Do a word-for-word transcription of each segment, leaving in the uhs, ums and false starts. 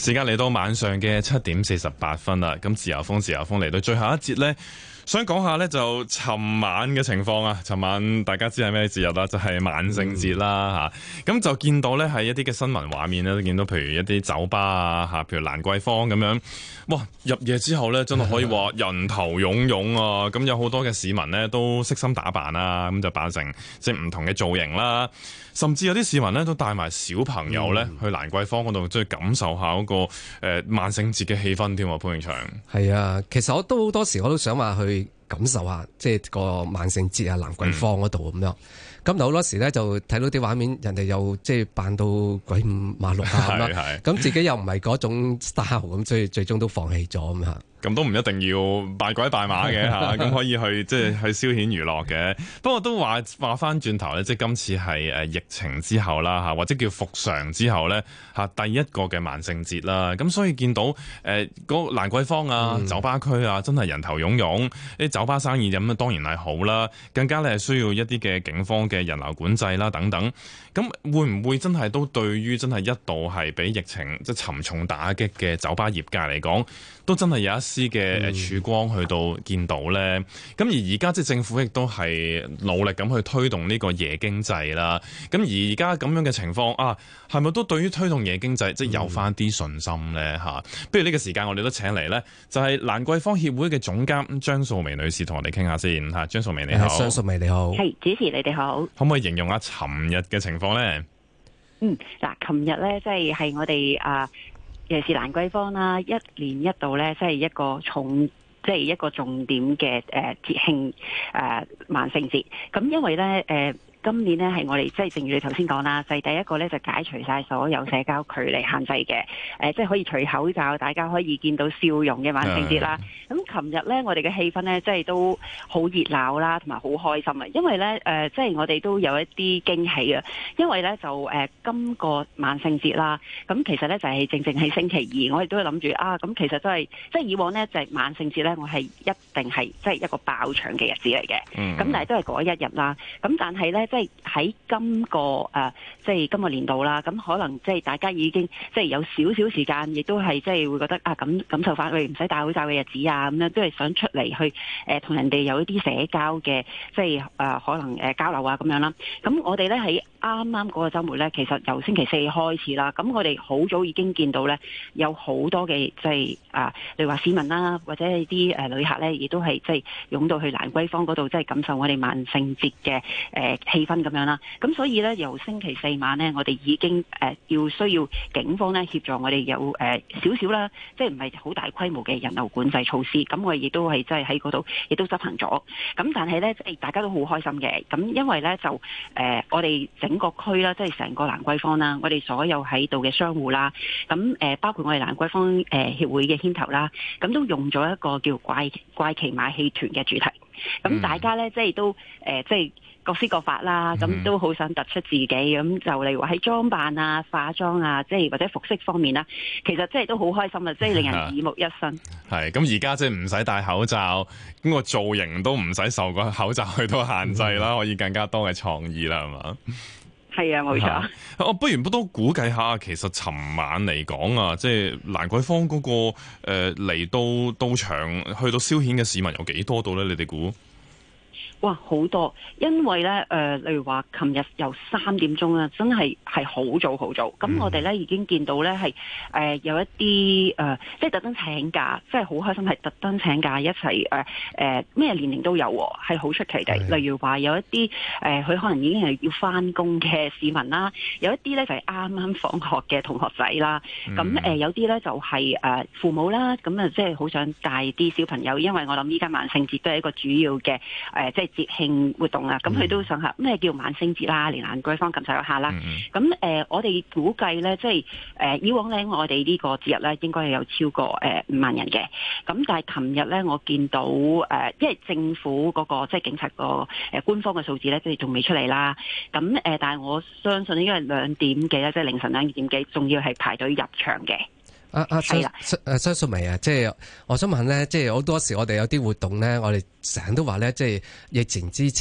時間嚟到晚上嘅七點四十八分啦，咁自由風自由風嚟到最後一節呢，想講下呢就尋晚嘅情況啊。尋晚大家知係咩節日啦？就係、是、萬聖節啦嚇。咁、嗯、就見到呢係一啲嘅新聞畫面咧，都見到譬如一啲酒吧啊嚇，譬如蘭桂坊咁樣，哇！入夜之後呢，真係可以話人頭湧湧啊！咁有好多嘅市民呢，都悉心打扮啊，咁就扮成即係唔同嘅造型啦。甚至有啲市民咧都帶埋小朋友咧去蘭桂坊嗰度，即係感受下嗰個誒萬聖節嘅氣氛添喎。潘永祥，係啊，其實我都好多時我都想話去感受下，即係個萬聖節啊蘭桂坊嗰度咁樣。咁好多時咧就睇到啲畫面，人哋又即係扮到鬼五馬六啊咁啦，咁自己又唔係嗰種 style 咁，所以最終都放棄咗咁嚇。 咁都唔一定要扮鬼扮馬嘅嚇，咁可以去即係去消遣娛樂嘅。不過都話話翻轉頭咧，即係今次係誒疫情之後啦嚇，或者叫復常之後咧嚇，第一個嘅萬聖節啦。咁所以見到誒嗰個蘭桂坊啊、酒吧區啊，真係人頭湧湧，啲酒吧生意咁啊當然係好啦，更加咧係需要一啲嘅警方嘅人流管制啦等等。咁會唔會真係都對於真係一度係俾疫情即係沉重打擊嘅酒吧業界嚟講，都真係有一絲嘅曙光去到見到咧？咁、嗯、而而家即係政府亦都係努力咁去推動呢個夜經濟啦。咁而而家咁樣嘅情況啊，係咪都對於推動夜經濟即係有翻啲信心咧？嚇、嗯，不如呢個時間我哋都請嚟咧，就係蘭桂坊協會嘅總監張素眉女士同我哋傾下先嚇。張素眉你好， 張素眉你好， 係主持你哋好。 可唔可以形容下尋日嘅情況咧？ 嗯，嗱，琴日咧即係係我哋啊，尤其是蘭桂坊啦，一年一度咧，即係一個重，即係一個重點嘅誒節慶誒萬聖節。咁因為咧誒。呃今年呢係我哋即係正如你頭先講啦，就係、是、第一個咧就解除晒所有社交距離限制嘅，誒、呃、即係可以除口罩，大家可以見到笑容嘅萬聖節啦。咁琴日咧我哋嘅氣氛咧即係都好熱鬧啦，同埋好開心啊！因為咧誒、呃、即係我哋都有一啲驚喜啊，因為咧就誒、呃、今個萬聖節啦，咁其實咧就係、是、正正喺星期二，我哋都會諗住啊，咁其實都係即係以往咧就係、是、萬聖節咧，我係一定係即係一個爆場嘅日子嚟嘅，咁、嗯、但係都係嗰一日啦。咁但係咧。即係喺今個誒、呃，即係今個年度啦，咁可能即係大家已經即係有少少時間，亦都係即係會覺得啊，感感受翻佢唔使戴口罩嘅日子啊，咁樣都係想出嚟去誒同、呃、人哋有一啲社交嘅，即係誒、呃、可能誒、呃、交流啊咁樣啦。咁我哋咧喺啱啱嗰個週末咧，其實由星期四開始啦，咁我哋好早已經見到咧有好多嘅即係啊，例如話市民啦，或者係啲誒旅客咧，亦都係即係湧到去蘭桂坊嗰度，即係感受我哋萬聖節嘅誒氣氛咁樣啦。咁所以咧，由星期四晚咧，我哋已經誒、呃、要需要警方咧協助我哋有誒少少啦，即係唔係好大規模嘅人流管制措施。咁我哋亦都係即係喺嗰度亦都執行咗。咁但係咧，即係大家都好開心嘅。咁因為咧就誒、呃、我哋整個區啦，即係成個蘭桂坊啦，我哋所有喺度嘅商戶啦，咁誒、呃、包括我哋蘭桂坊誒協會嘅牽頭啦，咁都用咗一個叫怪怪奇馬戲團嘅主題。咁大家咧即係都誒、呃、即係。各施各法啦，咁都好想突出自己，咁就例如話喺裝扮啊、化妝啊，即係或者服飾方面啦，其實即係都好開心啊，即係令人耳目一新。 係咁而家即係唔使戴口罩，咁個造型都唔使受個口罩去到限制啦，可以更加多嘅創意啦，係嘛？ 係啊，冇錯。 我不如都估計下，其實尋晚嚟講啊，即係蘭桂坊嗰個誒嚟到到場去到消遣嘅市民有幾多度咧？你哋估？ 哇，好多！因為咧，誒、呃，例如話，琴日由三點鐘啦，真係係好早好早。咁、嗯、我哋咧已經見到咧係誒有一啲誒、呃，即係特登請假，即係好開心，係特登請假一齊誒誒咩年齡都有，係好出奇地。例如話有一啲誒，佢、呃、可能已經係要翻工嘅市民啦，有一啲咧就係啱啱放學嘅同學仔啦。咁、嗯、誒、呃、有啲咧就係、是、誒、呃、父母啦，咁啊即係好想帶啲小朋友，因為我諗依家萬聖節都係一個主要嘅誒、呃，即係。節慶活動啊，咁佢都想下咩叫萬聖節啦，連蘭桂坊感受一下啦。咁、嗯、誒、呃，我哋估計咧，即係誒、呃，以往咧，我哋呢個節日咧，應該係有超過誒五、呃、萬人嘅。咁但係琴日咧，我見到誒、呃，因為政府嗰、那個即係警察個誒、呃、官方嘅數字咧，即係仲未出嚟啦。咁誒、呃，但係我相信應該係兩點幾啦，即係凌晨兩點幾，仲要係排隊入場嘅。 啊啊，張誒張素眉啊，即係我想問咧，即係好多時我哋有啲活動咧，我哋成日都話咧，即係疫情之前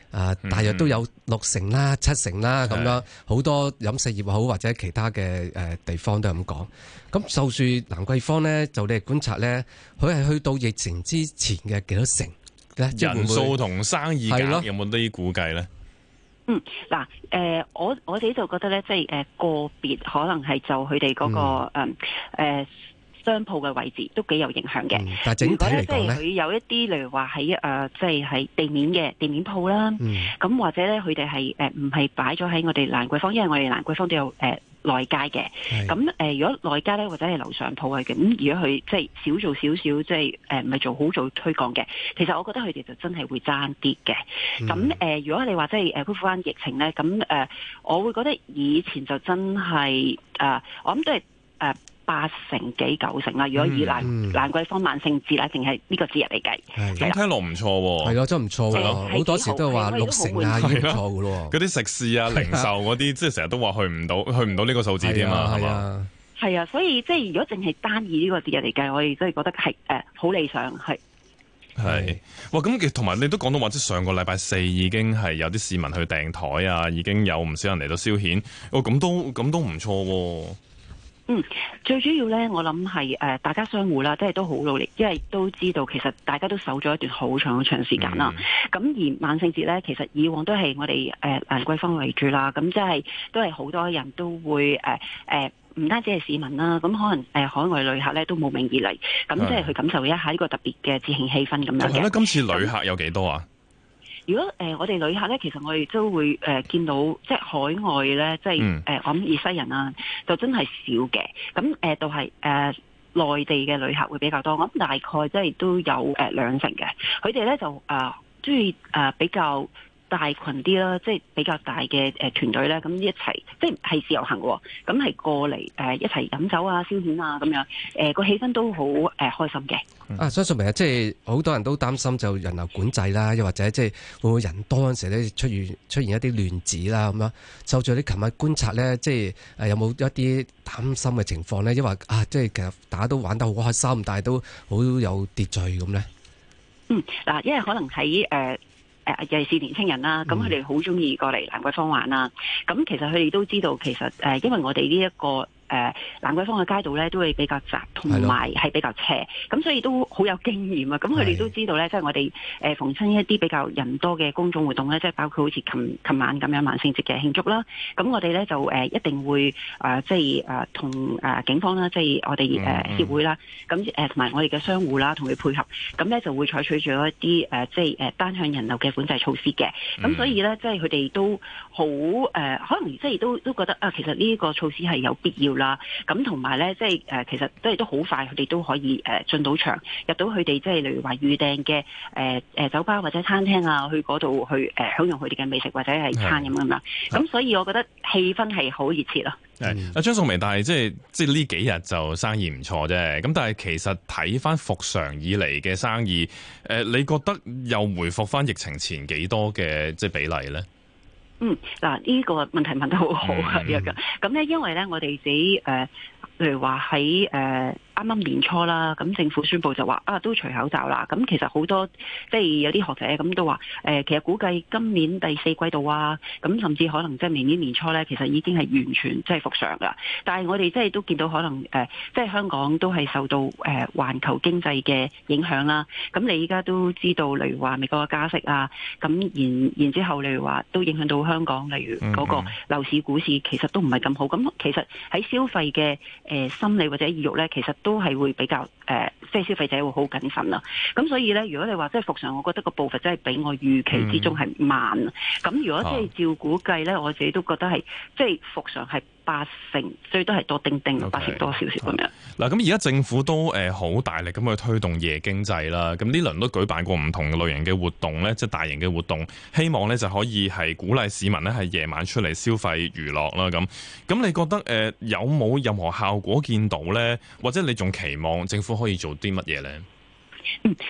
啊，大約都有六成啦、七成啦咁樣，好多飲食業好或者其他嘅誒地方都係咁講。咁就算蘭桂坊咧，就你哋觀察咧，佢係去到疫情之前嘅幾多成咧？ 人數同生意額有冇啲估計咧？ 嗯，嗱，誒，我我自己就覺得咧，即係誒個別可能係就佢哋嗰個誒誒。嗯呃商鋪嘅位置都幾有影響嘅、嗯， 但係整體嚟講咧， 即係佢有一啲，例如話喺誒，即係喺地面嘅地面鋪啦，咁、嗯、或者咧佢哋係誒唔係擺咗喺我哋蘭桂坊，因為我哋蘭桂坊都有誒、呃、內街嘅，咁誒、呃、如果內街咧或者係樓上鋪啊，咁如果佢即係少做少少，即係誒唔係做好做推廣嘅，其實我覺得佢哋就真係會爭啲嘅。咁、嗯、誒、呃，如果你話即係誒恢復翻疫情咧，咁誒、呃、我會覺得以前就真係誒、呃，我諗都係誒。呃八成幾九成啦，如果以蘭蘭桂坊萬聖節啦，淨係呢個節日嚟計， 咁聽落唔錯喎。 係咯，真係唔錯喎。好多時都係話六成啊，已經唔錯嘅咯。 嗰啲食肆啊、零售嗰啲，即係成日都話去唔到，去唔到呢個數字添嘛，係嘛？ 係啊，所以即係如果淨係單以呢個節日嚟計，我哋真係覺得係誒好理想，係。 係，哇！咁同埋你都講到話，即係上個禮拜四已經係有啲市民去訂台啊，已經有唔少人嚟到消遣。哦，咁都咁都唔錯喎。 嗯，最主要咧，我諗係誒大家商戶啦，即係都好努力，因為都知道其實大家都守咗一段好長好長時間啦。咁、嗯、而萬聖節咧，其實以往都係我哋誒蘭桂坊為主啦，咁即係都係好多人都會誒誒，唔、呃呃、單止係市民啦，咁可能誒、呃、海外旅客咧都慕名而嚟，咁即係去感受一下呢個特別嘅節慶氣氛咁樣嘅。 係啦，今次旅客有幾多啊？ 如果誒、呃、我哋旅客咧，其實我哋都會誒、呃、見到，即係海外咧，即係誒、嗯呃、我諗以西人啊，就真係少嘅。咁誒都係誒內地嘅旅客會比較多，我諗大概即係都有誒、呃、兩成嘅。佢哋咧就誒中意誒比較大群啲啦，即係比較大嘅誒團隊咧，咁一齊即係係自由行嘅，咁係過嚟誒、呃、一齊飲酒啊、消遣啊咁樣，誒、呃、個氣氛都好誒、呃、開心嘅。 啊，相信明日即係好多人都擔心就人流管制啦，又或者即係會唔會人多嗰陣時咧出現出現一啲亂子啦咁樣。就住你琴日觀察咧，即係誒有冇一啲擔心嘅情況咧？因為啊，即係其實大家都玩得好開心，但係都好有秩序咁咧。 嗯，嗱，因為可能喺誒。呃誒尤其是年青人啦，咁佢哋好中意過嚟蘭桂坊玩啦。咁其實佢哋都知道，其實誒，因為我哋呢一個誒蘭桂坊嘅街道咧，都會比較窄，同埋係比較斜，咁所以都好有經驗啊。咁佢哋都知道咧，即係我哋誒逢親一啲比較人多嘅公眾活動咧，即係包括好似琴琴晚咁樣萬聖節嘅慶祝啦。咁我哋咧就誒一定會誒即係誒同誒警方啦，即係我哋誒協會啦，咁誒同埋我哋嘅商戶啦，同佢配合，咁咧就會採取咗一啲誒即係誒單向人流嘅管制措施嘅。咁所以咧，即係佢哋都好誒，可能即係都都覺得啊，其實呢個措施係有必要啦。咁同埋咧，即係誒，其實都係都好快，佢哋都可以誒進到場，入到佢哋即係例如話預訂嘅誒誒酒吧或者餐廳啊，去嗰度去誒享用佢哋嘅美食或者係餐飲咁樣。咁所以我覺得氣氛係好熱切咯。 係阿張淑眉，但係即係即係呢幾日就生意唔錯啫。咁但係其實睇翻復常以嚟嘅生意，誒，你覺得又回復翻疫情前幾多嘅即係比例咧？ 嗯，嗱，呢個問題問得好好啊，咁、嗯、咧，因為咧，我哋自己誒、呃，例如話喺誒啱啱年初啦，咁政府宣布就話啊，都除口罩啦。咁其實好多即係有啲學者咁都話，誒、呃，其實估計今年第四季度啊，咁甚至可能即係明年年初咧，其實已經係完全即係復常噶。但係我哋即係都見到可能誒、呃，即係香港都係受到誒環、呃、球經濟嘅影響啦。咁你依家都知道，例如話美國嘅加息啊，咁然然之後，例如話都影響到香港，例如嗰個樓市、股市，其實都唔係咁好。咁其實喺消費嘅誒、呃、心理或者意欲咧，其實都係會比較誒、呃，即係消費者會好謹慎啦。咁所以咧，如果你話即係復常，我覺得個步伐真係比我預期之中係慢。咁、嗯、如果即係照估計咧，我自己都覺得係即係復常係八成，最多係多丁丁，okay, 八成多少少咁樣。 嗱，咁而家政府都誒好大力咁去推動夜經濟啦。咁呢輪都舉辦過唔同類型嘅活動咧，即係大型嘅活動，希望咧就可以係鼓勵市民咧係夜晚出嚟消費娛樂啦。咁咁你覺得誒、呃、有冇任何效果見到咧？或者你仲期望政府可以做啲乜嘢咧？ 嗯，咁誒、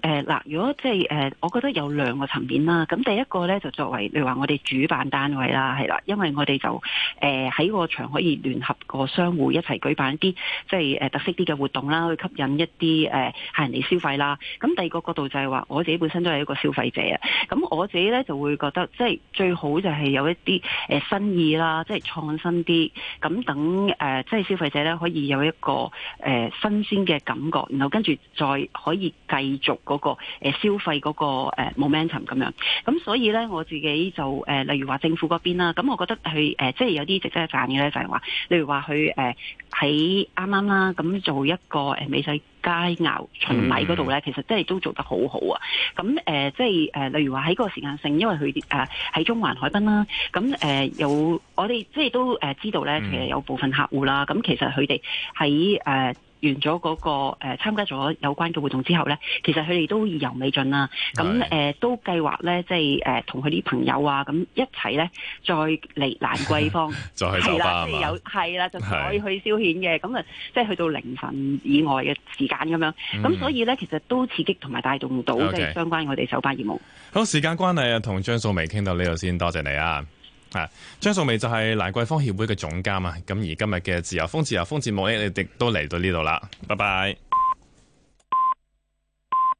誒嗱，如果即係誒，我覺得有兩個層面啦。咁第一個咧就作為，例如話我哋主辦單位啦，係啦，因為我哋就誒喺個場可以聯合個商戶一齊舉辦一啲即係誒特色啲嘅活動啦，去吸引一啲誒客人嚟消費啦。咁第二個角度就係話，我自己本身都係一個消費者啊。咁我自己咧就會覺得，即係最好就係有一啲誒新意啦，即係創新啲，咁等誒即係消費者咧可以有一個誒新鮮嘅感覺，然後跟住再可以繼續嗰個誒消費嗰個誒 momentum 咁樣。咁所以咧我自己就誒例如話政府嗰邊啦，咁我覺得佢誒即係有啲值得一讚嘅咧，就係話例如話佢誒喺啱啱啦，咁做一個誒美食佳肴巡禮嗰度咧，其實真係都做得好好啊！咁誒、呃，即係誒、呃，例如話喺個時間性，因為佢誒喺中環海濱啦，咁誒、呃、有我哋即係都誒知道咧，其實有部分客戶啦，咁其實佢哋喺誒完咗嗰、那個誒、呃、參加咗有關嘅活動之後咧，其實佢哋都意猶未盡啦。咁誒、呃、都計劃咧，即係誒同佢啲朋友啊，咁一齊咧再嚟蘭桂坊， 再去酒吧啊嘛， 係啦，即係有係啦，就再去消遣嘅。咁啊，即係去到凌晨以外嘅時間咁樣。咁、嗯、所以咧，其實都刺激同埋帶動到即係相關我哋酒吧業務。 好，時間關係啊，同張素眉傾到呢度先，多謝你啊！啊，張素眉就係蘭桂坊協會嘅總監啊。咁而今日嘅自由風自由風節目咧，你哋都嚟到呢度啦，拜拜。